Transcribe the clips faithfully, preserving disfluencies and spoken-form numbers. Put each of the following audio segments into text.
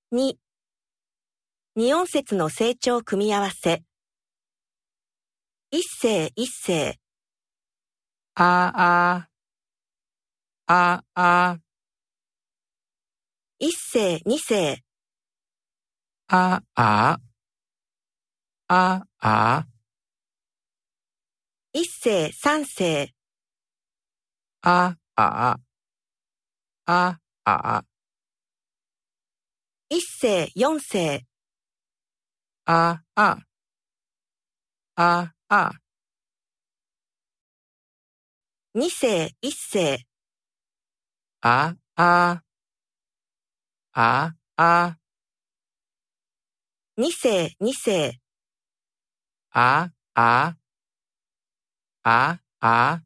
に、二音節の成長組み合わせ。一声一声。 ああ、ああ、 一声二声。 ああ、ああ、 一声三声。 ああ、ああ、 一声四声。 ああ、ああ、 二声一声。 ああ、ああ、 二声二声。 ああ、ああ、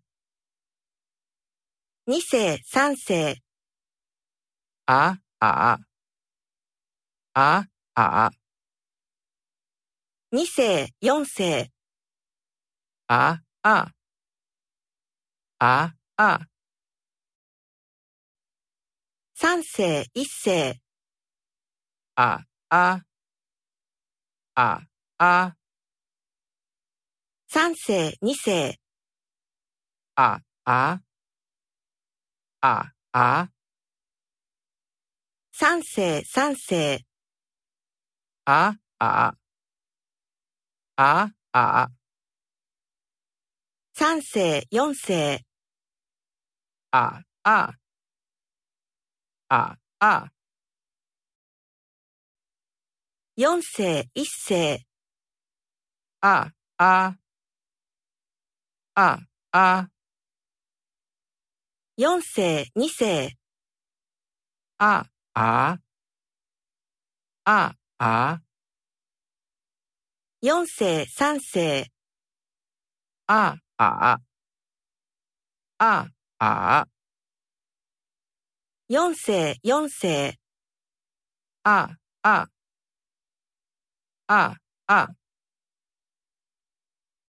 二声三声。 ああ、ああ、 二声四声。 ああ、ああ、 三声一声。 ああ、ああ、 三声二声。 ああ、ああ、 三声三声。 ああ、ああ、 三声四声。 ああ、ああ、 四声一声。 ああ、ああ、 四声二声。 ああ、ああ、 四声三声。 ああ、ああ、 四声四声。 ああ、ああ、